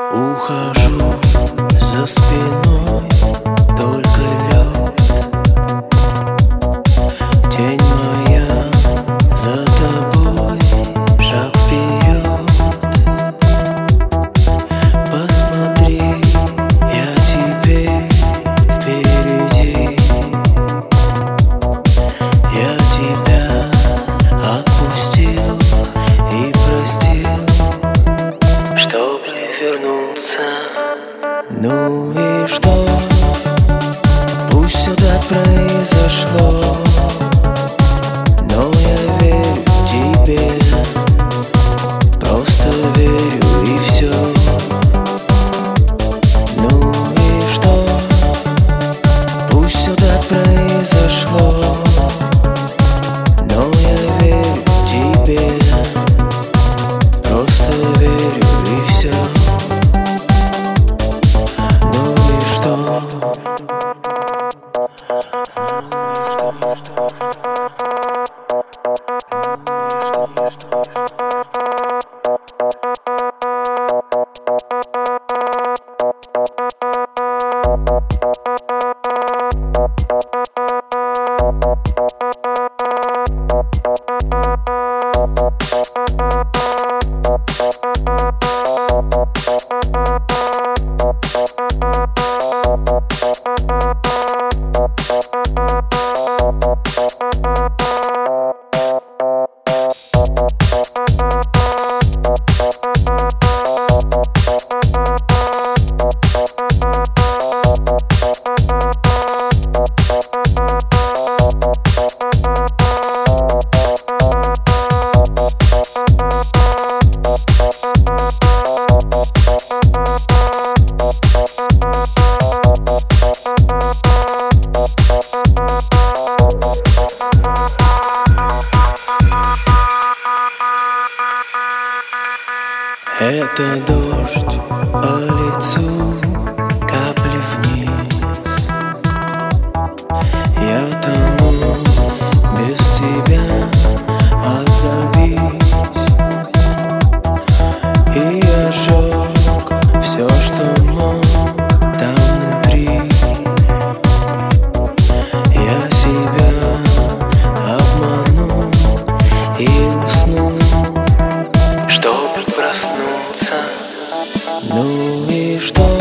Ухожу за спиной, только лед. Тень моя за тобой, шаг вперед. Посмотри, я теперь впереди. Я тебя отпустил и простил, чтоб не вернуться. Ну и что? Пусть все так произошло, но я верю тебе, просто верю и все. Ну и что? Пусть все так произошло, но я верю тебе, просто верю и все. Ну и что? Это дождь по лицу, капли вниз. Я тону без тебя, отзовись. И я сжег все, что мог там внутри. Я себя обманул и уснул, чтобы проснуться. Ну и что?